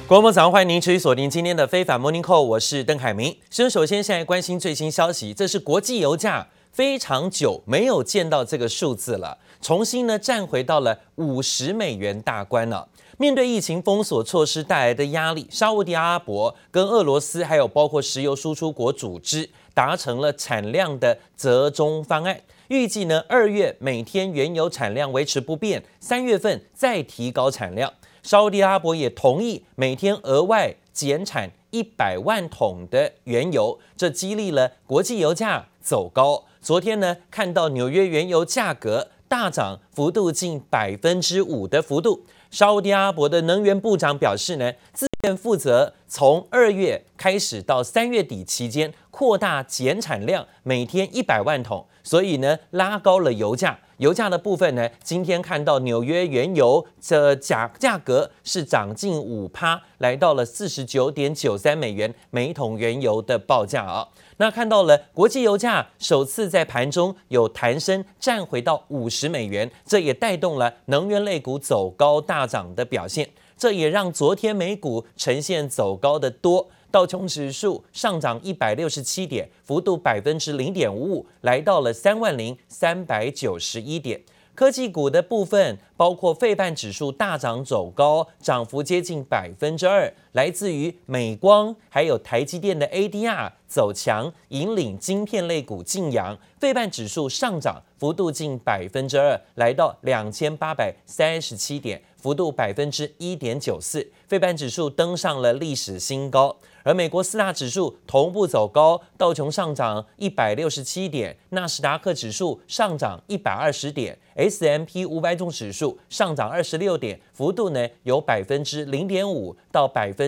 各位早上，歡迎您持續鎖定今天的非凡 Morning Call， 我是鄧凱明。首先現在關心最新消息，這是國際油價非常久沒有見到這個數字了，重新呢站回到了$50大關了。面對疫情封鎖措施帶來的壓力，沙烏地阿拉伯跟俄羅斯還有包括石油輸出國組織達成了產量的折中方案，預計呢2月每天原油產量維持不變，3月份再提高產量。沙烏地阿拉伯也同意每天額外減產100萬桶的原油，這激勵了國際油價走高。昨天呢，看到紐約原油價格大漲，幅度近5%的幅度。沙烏地阿拉伯的能源部長表示呢，自願負責從2月開始到3月底期間擴大減產量，每天100萬桶，所以呢拉高了油價。油價的部分呢，今天看到紐約原油的價格是漲近5%，來到了$49.93每一桶原油的報價啊。那看到了國際油價首次在盤中有彈升，站回到$50，這也帶動了能源類股走高大漲的表現。這也讓昨天美股呈現走高的多。道瓊指數上漲167點，幅度0.55%，來到了30391點。科技股的部分，包括費半指數大漲走高，漲幅接近2%，來自於美光還有台積電的 ADR 走強，引領晶片類股勁揚。費半指數上漲幅度近2%，來到2837點，幅度1.94%，費半指數登上了歷史新高。而美国4大指數同步走高，道瓊上漲167點，納斯達克指數上漲120點 ，S&P 500種指數上漲26點，幅度呢有0.5%到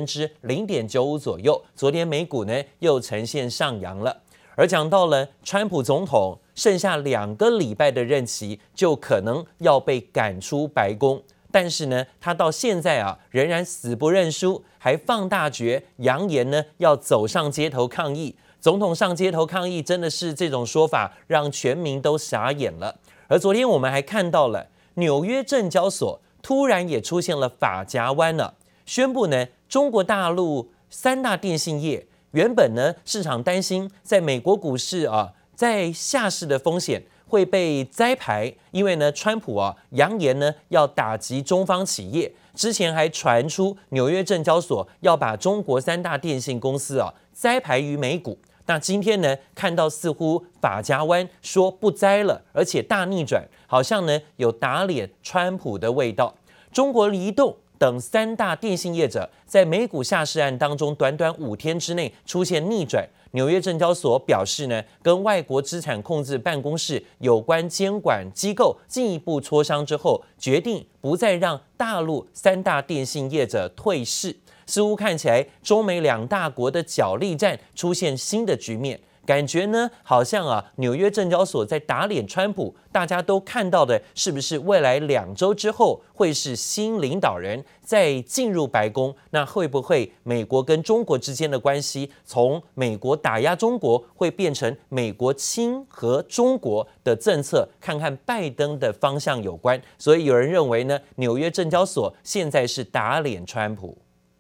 0.95%左右。昨天美股呢又呈現上揚了。而講到了川普總統剩下2個禮拜的任期，就可能要被趕出白宮。但是呢，他到現在仍然死不認輸，還放大絕，揚言呢要走上街頭抗議。總統上街頭抗議，真的是這種說法讓全民都傻眼了。而昨天我們還看到了紐約證交所突然也出現了髮夾彎了，宣布呢中國大陸3大電信業原本呢市場擔心在美國股市在下市的風險會被摘牌，因為呢，川普揚言呢要打擊中方企業。之前還傳出紐約證交所要把中國3大電信公司摘牌於美股。那今天呢，看到似乎髮夾彎，說不摘了，而且大逆轉，好像呢有打臉川普的味道。中國移動等3大電信業者在美股下市案當中，短短5天之內出現逆轉。紐約證交所表示呢，跟外國資產控制辦公室有關監管機構進一步磋商之後，決定不再讓大陸3大電信業者退市。似乎看起來中美2大國的角力戰出現新的局面。感覺呢，好像紐約證交所在打臉川普，大家都看到的是不是未來2週之後會是新領導人再進入白宮？那會不會美國跟中國之間的關係從美國打壓中國，會變成美國親和中國的政策？看看拜登的方向有關。所以有人認為呢，紐約證交所現在是打臉川普。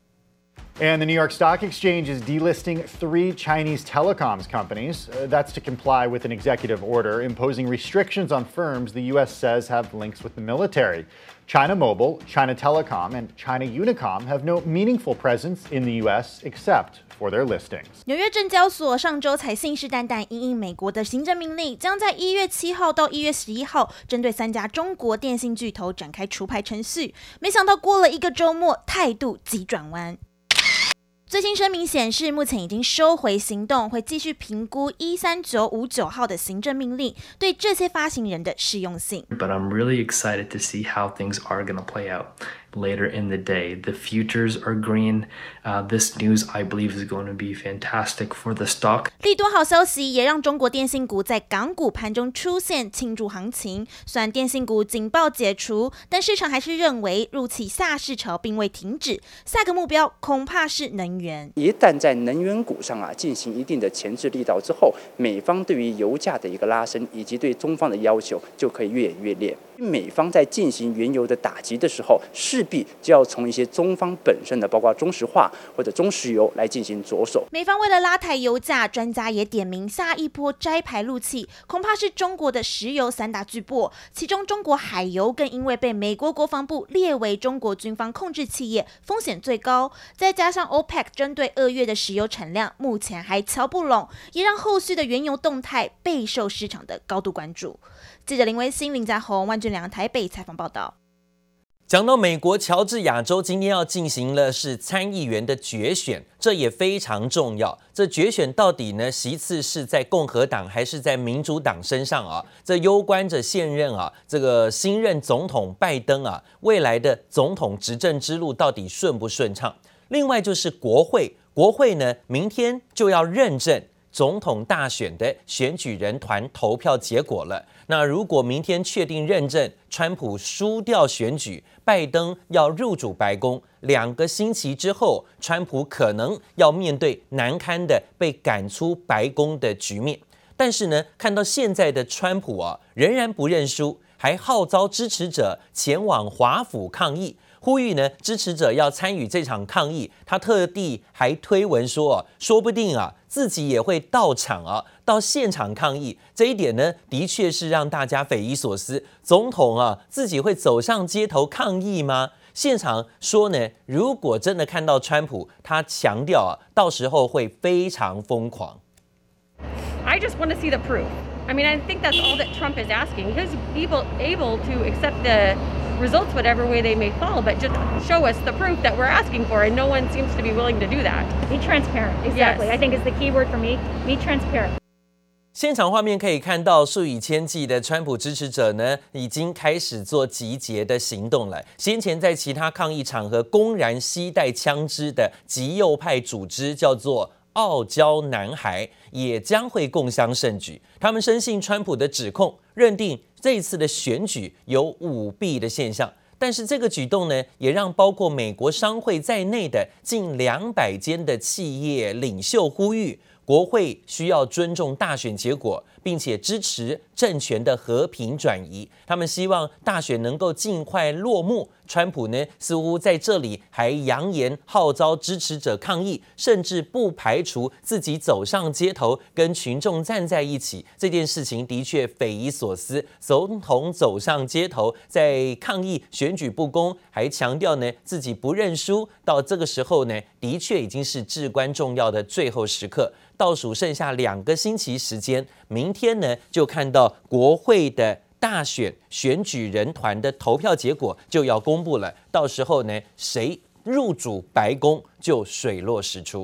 And the New York Stock Exchange is delisting 3 Chinese telecoms companies. That's to comply with an executive order imposing restrictions on firms the U.S. says have links with the military. China Mobile, China Telecom, and China Unicom have no meaningful presence in the U.S. except for their listings. 紐約證交所上週才信誓旦旦因應美國的行政命令，將在1月7號到1月11號針對3家中國電信巨頭展開除牌程序。沒想到過了1個週末，態度急轉彎。最新聲明顯示，目前已經收回行動，會繼續評估13959號的行政命令對這些發行人的適用性。 But I'm really excited to see how things are going to play out later in the day. The futures are green. This news, I believe, is going to be fantastic for the stock. 利多好消息也讓中國電信股在港股盤中出現慶祝行情。雖然電信股警報解除，但市場還是認為入期下市潮並未停止，下個目標恐怕是能源。 一旦在能源股上進行一定的前置力道之後，美方對於油價的一個拉升以及對中方的要求就可以越演越烈。 美方在進行原油的打擊的時候，勢必就要從一些中方本身的，包括中石化或者中石油來進行着手。 美方為了拉抬油價，專家也點名下一波摘牌路器，恐怕是中國的石油三大巨擘，其中中國海油更因為被美國國防部列為中國軍方控制企業，風險最高。再加上 OPEC 針對2月的石油產量目前還喬不攏，也讓後續的原油動態備受市場的高度關注。記者林維新、林家宏、萬俊良台北採訪報道。 講到美國喬治亞州今天要進行的是參議員的決選，這也非常重要。這決選到底呢，席次是在共和黨還是在民主黨身上啊？這攸關着現任這個新任總統拜登未來的總統執政之路到底順不順暢？另外就是國會呢，明天就要認證總統大選的選舉人團投票結果了。那如果明天確定認證川普輸掉選舉，拜登要入主白宮，2個星期之後，川普可能要面對難堪的被趕出白宮的局面。但是呢，看到現在的川普仍然不認輸，還號召支持者前往華府抗議。呼籲呢，支持者要參與這場抗議。他特地還推文說，說不定自己也會到場到現場抗議。這一點呢，的確是讓大家匪夷所思。總統自己會走上街頭抗議嗎？現場說呢，如果真的看到川普，他強調到時候會非常瘋狂。 I just want to see the proof. I mean, I think that's all that Trump is asking. He's able to accept the results whatever way they may fall, but just show us the proof that we're asking for, and no one seems to be willing to do that. Be transparent, exactly. Yes. I think is the key word for me. Be transparent. 現場畫面可以看到，數以千計的川普支持者呢，已經開始做集結的行動了。先前在其他抗議場合公然攜帶槍支的極右派組織，叫做傲嬌男孩，也將會共襄盛舉。他們深信川普的指控，認定這一次的選舉有舞弊的現象。但是這個舉動呢，也讓包括美國商會在內的近200間的企業領袖呼籲，國會需要尊重大選結果，並且支持政權的和平轉移。他們希望大選能夠盡快落幕。川普呢，似乎在這裡還揚言號召支持者抗議，甚至不排除自己走上街頭跟群眾站在一起。這件事情的確匪夷所思。總統走上街頭，在抗議選舉不公，還強調呢自己不認輸。到這個時候呢，的確已經是至關重要的最後時刻。倒數剩下2個星期時間，明天呢就看到國會的大選選舉人團的投票結果就要公布了。到時候呢，誰入主白宮就水落石出。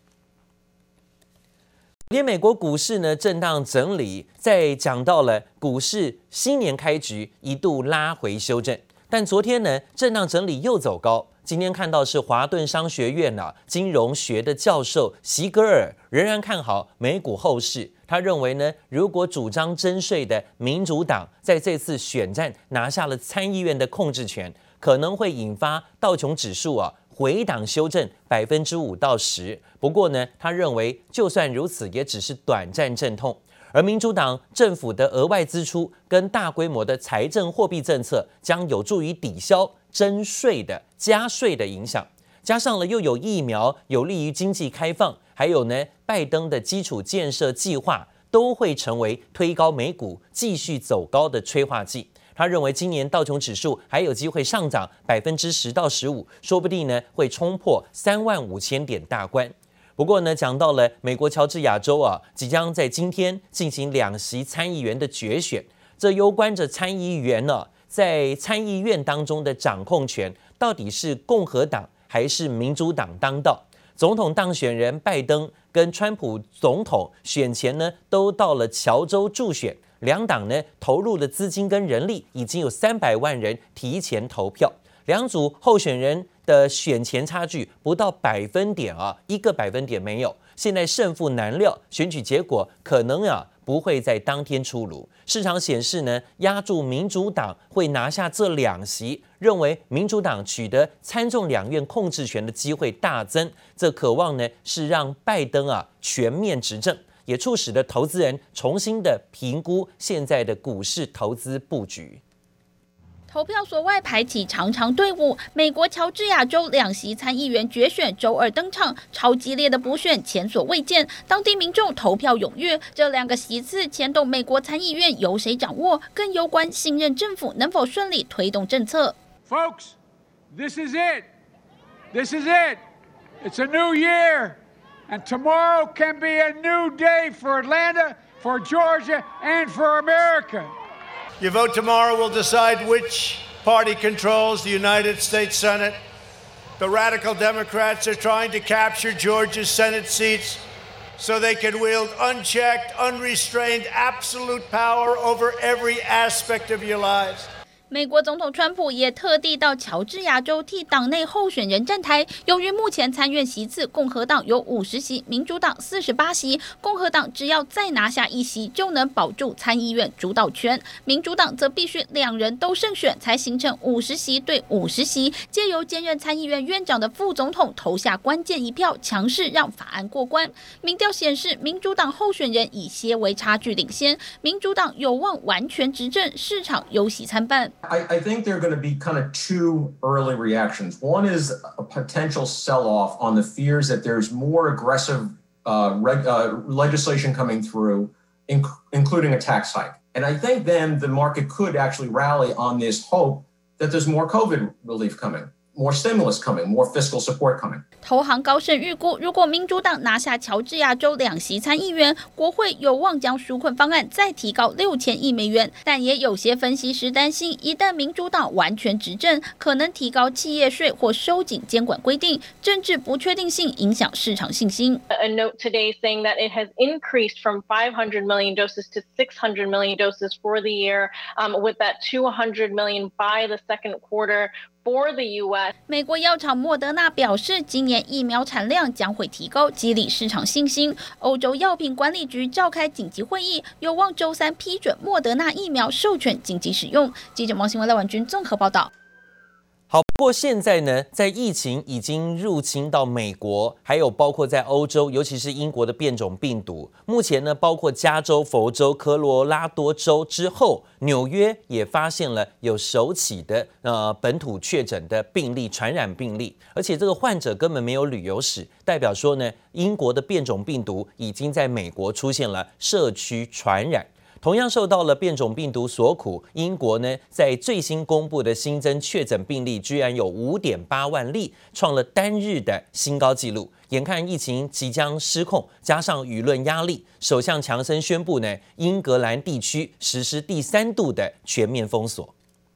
今天美國股市呢震盪整理，在講到了股市新年開局一度拉回修正，但昨天呢震盪整理又走高。今天看到是華頓商學院金融學的教授席格爾仍然看好美股後市。他認為呢，如果主張徵稅的民主黨在這次選戰拿下了參議院的控制權，可能會引發道瓊指數回檔修正5%到10%。不過呢，他認為就算如此，也只是短暫陣痛。而民主黨政府的額外支出跟大規模的財政貨幣政策將有助於抵消徵稅的加稅的影響，加上了又有疫苗有利於經濟開放，還有呢拜登的基礎建設計劃都會成為推高美股繼續走高的催化劑。他認為今年道瓊指數還有機會上漲10%到15%，說不定呢會衝破35000點大關。不過呢，講到了美國喬治亞州即將在今天進行2席參議員的決選，這攸關着參議員在參議院當中的掌控權到底是共和黨還是民主黨當道。總統當選人拜登跟川普總統選前呢都到了喬州助選，兩黨呢投入的資金跟人力已經有300萬人提前投票，兩組候選人的選前差距不到1%，1個百分點沒有。現在勝負難料，選舉結果可能不會在當天出爐。市場顯示呢，押注民主黨會拿下這2席，認為民主黨取得參眾兩院控制權的機會大增。這渴望呢是讓拜登全面執政，也促使了投資人重新的評估現在的股市投資布局。 投票所外排起長長隊伍，美國喬治亞州2席參議員決選周二登場，超激烈的補選前所未見，當地民眾投票踴躍。這2個席次牽動美國參議院由誰掌握，更攸關新任政府能否順利推動政策。 Folks, this is it. This is it. It's a new year, and tomorrow can be a new day for Atlanta, for Georgia, and for America. Your vote tomorrow will decide which party controls the United States Senate. The radical Democrats are trying to capture Georgia's Senate seats so they can wield unchecked, unrestrained, absolute power over every aspect of your lives. 美國總統川普也特地到喬治亞州替黨內候選人站台。由於目前參院席次，共和黨有50席，民主黨48席。共和黨只要再拿下1席，就能保住參議院主導權。民主黨則必須2人都勝選，才形成50席對50席。借由兼任參議院院長的副總統投下關鍵一票，強勢讓法案過關。民調顯示，民主黨候選人以些微差距領先，民主黨有望完全執政，市場憂喜參半。 I think there are going to be kind of 2 early reactions. One is a potential sell-off on the fears that there's more aggressive legislation coming through, including a tax hike. And I think then the market could actually rally on this hope that there's more COVID relief coming, more stimulus coming, more fiscal support coming. 投行高盛預估，如果民主黨拿下喬治亞州2席參議員，國會有望將紓困方案再提高6000億美元。但也有些分析師擔心，一旦民主黨完全執政，可能提高企業稅或收緊監管規定，政治不確定性影響市場信心。 A note today saying that it has increased from 500 million doses to 600 million doses for the year, with that 200 million by the second quarter. For the U.S. 美國藥廠莫德納表示，今年疫苗產量將會提高，激勵市場信心。歐洲藥品管理局召開緊急會議，有望週3批准莫德納疫苗授權緊急使用。記者王新文、賴婉君綜合報道。 好，不過現在呢，在疫情已經入侵到美國，還有包括在歐洲，尤其是英國的變種病毒。目前呢，包括加州、佛州、科羅拉多州之後，紐約也發現了有首起的本土確診的病例、傳染病例，而且這個患者根本沒有旅遊史，代表說呢，英國的變種病毒已經在美國出現了社區傳染。同樣受到了變種病毒所苦，英國呢在最新公布的新增確診病例居然有5.8萬例，創了單日的新高紀錄。眼看疫情即將失控，加上輿論壓力，首相強生宣布呢，英格蘭地區實施第3度的全面封鎖。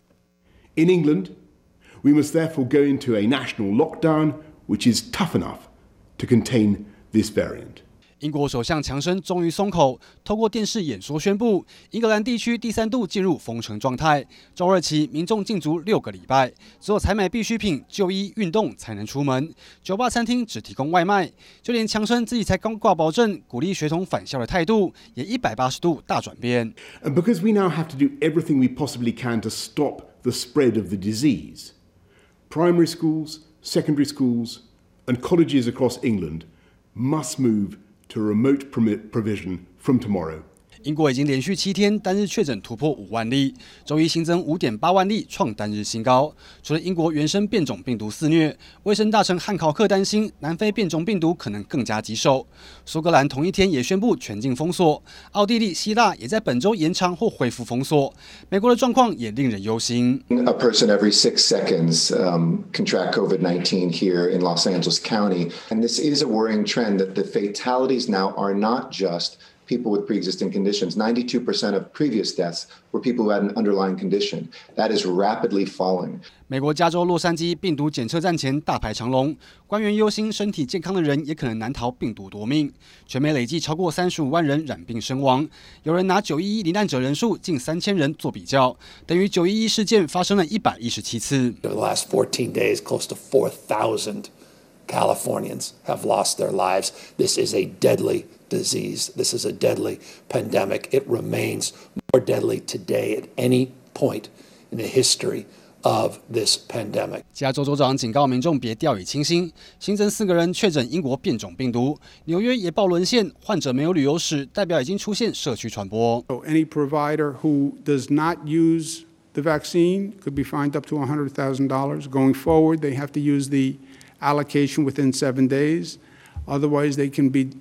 In England, we must therefore go into a national lockdown, which is tough enough to contain this variant. 英國首相強生終於鬆口，透過電視演說宣布，英格蘭地區第3度進入封城狀態。周二起，民眾禁足6個禮拜，只有採買必需品、就醫、運動才能出門。酒吧、餐廳只提供外賣，就連強生自己才剛掛保證，鼓勵學童返校的態度，也180度大轉變。 And because we now have to do everything we possibly can to stop the spread of the disease, primary schools, secondary schools, and colleges across England must move to remote provision from tomorrow. 英國已經連續7天單日確診突破5萬例，周一新增5.8萬例，創單日新高。除了英國原生變種病毒肆虐，衛生大臣漢考克擔心南非變種病毒可能更加棘手。蘇格蘭同一天也宣布全境封鎖，奧地利、希臘也在本周延長或恢復封鎖。美國的狀況也令人憂心。 A person every 6 seconds contract COVID-19 here in Los Angeles County, and this is a worrying trend that the fatalities now are not just people with pre-existing conditions. 92% of previous deaths were people who had an underlying condition. That is rapidly falling. 美國加州洛杉磯病毒檢測站前大排長龍，官員憂心身體健康的人也可能難逃病毒奪命。全美累計超過35萬人染病身亡，有人拿911罹難者人數近3000人做比較，等於911事件發生了117次。 Over the last 14 days, close to 4,000 Californians have lost their lives. This is a deadly disease. This is a deadly pandemic. It remains more deadly today at any point in the history of this pandemic. 加州州長警告民眾別掉以輕心，新增4個人確診英國變種病毒。紐約也爆淪陷，患者沒有旅遊史，代表已經出現社區傳播。 Any provider who does not use the vaccine, could be fined up to $100,000. Going forward, they have to use the allocation within 7 days. Otherwise, they can be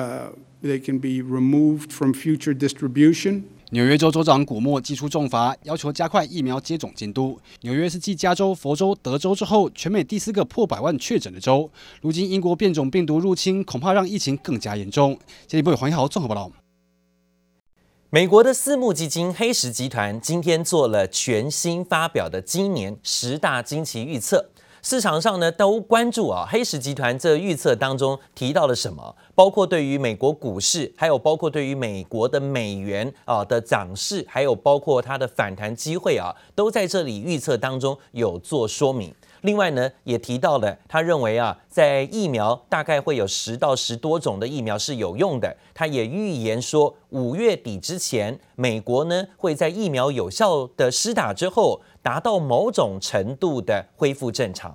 removed from future distribution. 紐約州州長古默祭出重罰，要求加快疫苗接種進度。紐約是繼加州、佛州、德州之後，全美第4個破100萬確診的州。如今英國變種病毒入侵，恐怕讓疫情更加嚴重。這裡部有黃一豪綜合報道。 美國的私募基金黑石集團今天做了全新發表的今年10大驚奇預測。市場上呢都關注黑石集團這預測當中提到了什麼，包括對於美國股市，還有包括對於美國的美元的漲勢，還有包括它的反彈機會都在這裡預測當中有做說明。另外呢，也提到了他認為在疫苗大概會有10到10多種的疫苗是有用的。他也預言說，5月底之前，美國呢會在疫苗有效的施打之後，達到某種程度的恢復正常。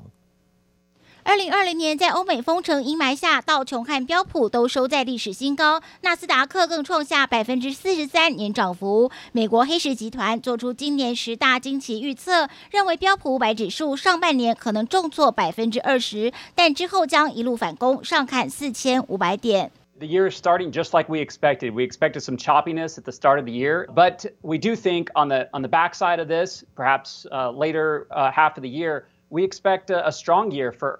2020年，在歐美封城陰霾下，道瓊和標普都收在歷史新高，納斯達克更創下43%年漲幅。美國黑石集團做出今年10大驚奇預測，認為標普500指數上半年可能重挫20%，但之後將一路反攻，上看4500點。 The year is starting just like we expected. We expected some choppiness at the start of the year, but we do think on the backside of this, perhaps later half of the year, we expect a strong year for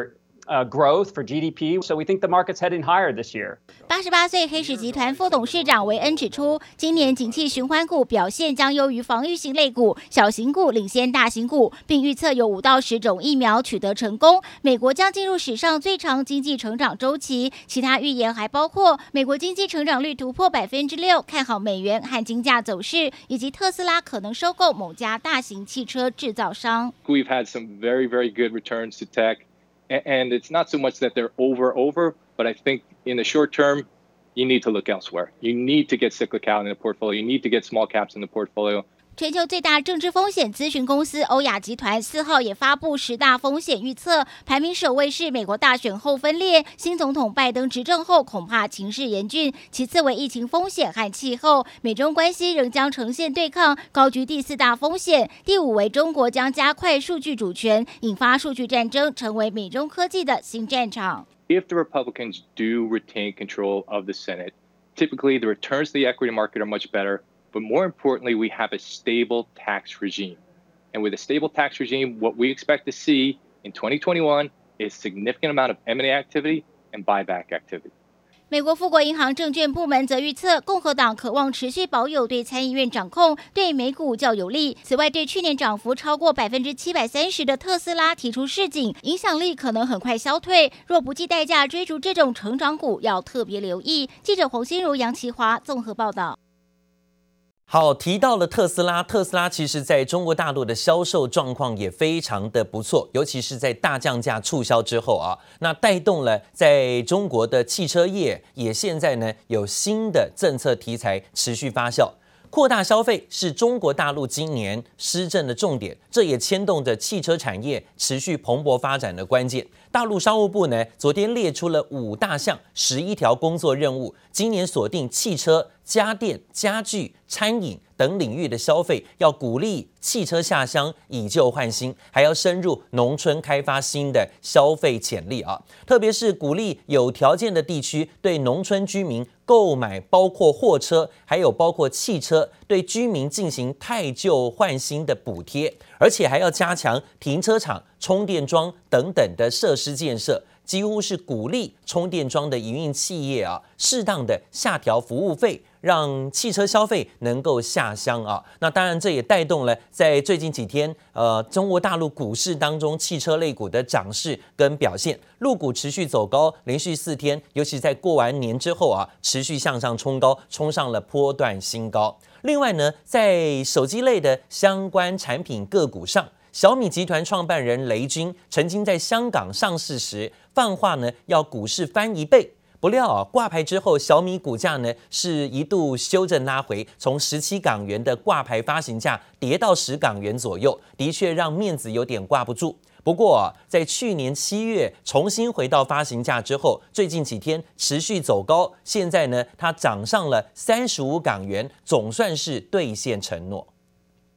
growth, for GDP. So we think the market's heading higher this year. 88歲黑石集團副董事長維恩指出，今年景氣循環股表現將優於防禦性類股，小型股領先大型股，並預測有5到10種疫苗取得成功，美國將進入史上最長經濟成長週期。其他預言還包括美國經濟成長率突破6%，看好美元和金價走勢，以及特斯拉可能收購某家大型汽車製造商。 We've had some very, very good returns to tech. And it's not so much that they're over, but I think in the short term, you need to look elsewhere. You need to get cyclicality in the portfolio. You need to get small caps in the portfolio. 全球最大政治風險諮詢公司歐亞集團4號也發布10大風險預測，排名首位是美國大選後分裂，新總統拜登執政後恐怕情勢嚴峻，其次為疫情風險和氣候，美中關係仍將呈現對抗，高居第4大風險，第5為中國將加快數據主權，引發數據戰爭，成為美中科技的新戰場。 If the Republicans do retain control of the Senate, typically the returns to the equity market are much better. But more importantly, we have a stable tax regime. And with a stable tax regime, what we expect to see in 2021 is significant amount of M&A activity and buyback activity. 美國富國銀行證券部門則預測，共和黨渴望持續保有對參議院掌控，對美股較有利。此外，對去年漲幅超過730%的特斯拉提出示警，影響力可能很快消退。若不計代價追逐這種成長股，要特別留意。記者黃心如、楊奇華綜合報道。 好，提到了特斯拉，特斯拉其實在中國大陸的銷售狀況也非常的不錯，尤其是在大降價促銷之後那帶動了在中國的汽車業也現在呢有新的政策題材持續發酵。擴大消費是中國大陸今年施政的重點，這也牽動着汽車產業持續蓬勃發展的關鍵。大陸商務部呢，昨天列出了5大項11條工作任務，今年鎖定汽車、家電、家具、餐飲等領域的消費，要鼓勵汽車下鄉，以舊換新，還要深入農村開發新的消費潛力特別是鼓勵有條件的地區對農村居民購買包括貨車，還有包括汽車，對居民進行汰舊換新的補貼，而且還要加強停車場、充電樁等等的設施建設，幾乎是鼓勵充電樁的營運企業適當的下調服務費，讓汽車消費能夠下鄉那當然這也帶動了在最近幾天中國大陸股市當中汽車類股的漲勢跟表現，陸股持續走高，連續4天，尤其在過完年之後持續向上衝高，衝上了波段新高。另外呢，在手機類的相關產品個股上，小米集團創辦人雷軍曾經在香港上市時放話呢，要股市翻1倍。不料掛牌之後，小米股價呢是一度修正拉回，從17港元的掛牌發行價跌到10港元左右，的確讓面子有點掛不住。不過在去年7月重新回到發行價之後，最近幾天持續走高，現在呢它漲上了35港元，總算是兌現承諾。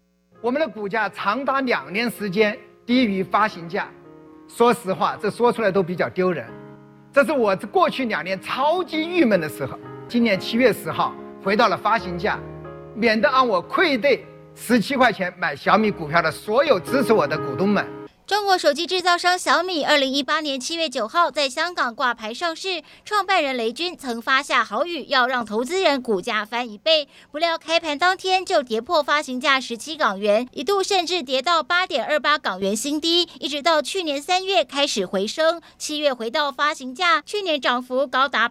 我們的股價長達2年時間低於發行價。說實話，這說出來都比較丟人。這是我過去2年超級鬱悶的時候。今年7月10號回到了發行價，免得讓我愧對17塊錢買小米股票的所有支持我的股東們。 中國手機製造商小米2018年7月9號在香港掛牌上市，創辦人雷軍曾發下豪語，要讓投資人股價翻1倍。不料開盤當天就跌破發行價17港元，一度甚至跌到8.28港元新低，一直到去年3月開始回升，7月回到發行價，去年漲幅高達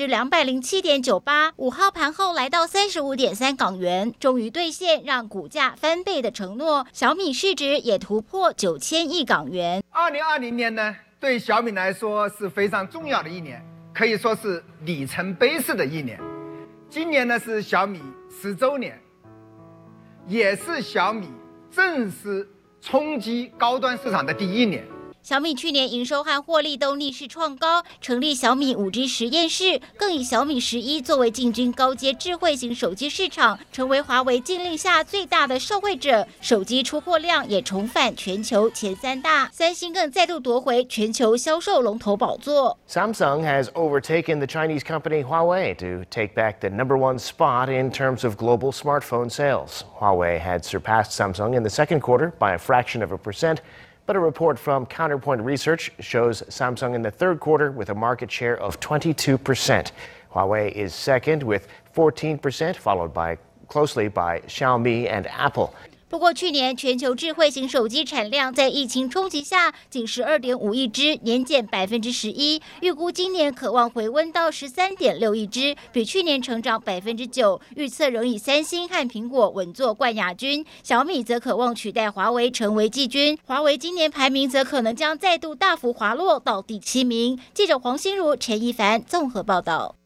207.98%，5號盤後來到35.3港元，終於兌現讓股價翻倍的承諾，小米市值也突破9000億港元。 2020年呢，對小米來說是非常重要的一年，可以說是里程碑式的一年。今年呢是小米10週年，也是小米正式衝擊高端市場的第1年。 小米去年營收和獲利都逆勢創高，成立小米5G 實驗室，更以小米11作為進軍高階智慧型手機市場，成為華為禁令下最大的受惠者。手機出貨量也重返全球前3大，三星更再度奪回全球銷售龍頭寶座。 Samsung has overtaken the Chinese company Huawei to take back the #1 spot in terms of global smartphone sales. Huawei had surpassed Samsung in the second quarter by a fraction of a percent. But a report from Counterpoint Research shows Samsung in the third quarter with a market share of 22%. Huawei is second with 14%, followed closely by Xiaomi and Apple. 不過，去年全球智慧型手機產量在疫情衝擊下僅12.5億隻，年減11%。預估今年可望回溫到13.6億隻，比去年成長9%。預測仍以三星和蘋果穩坐冠亞軍，小米則可望取代華為成為季軍。華為今年排名則可能將再度大幅滑落到第7名。記者黃心如、陳一凡綜合報道。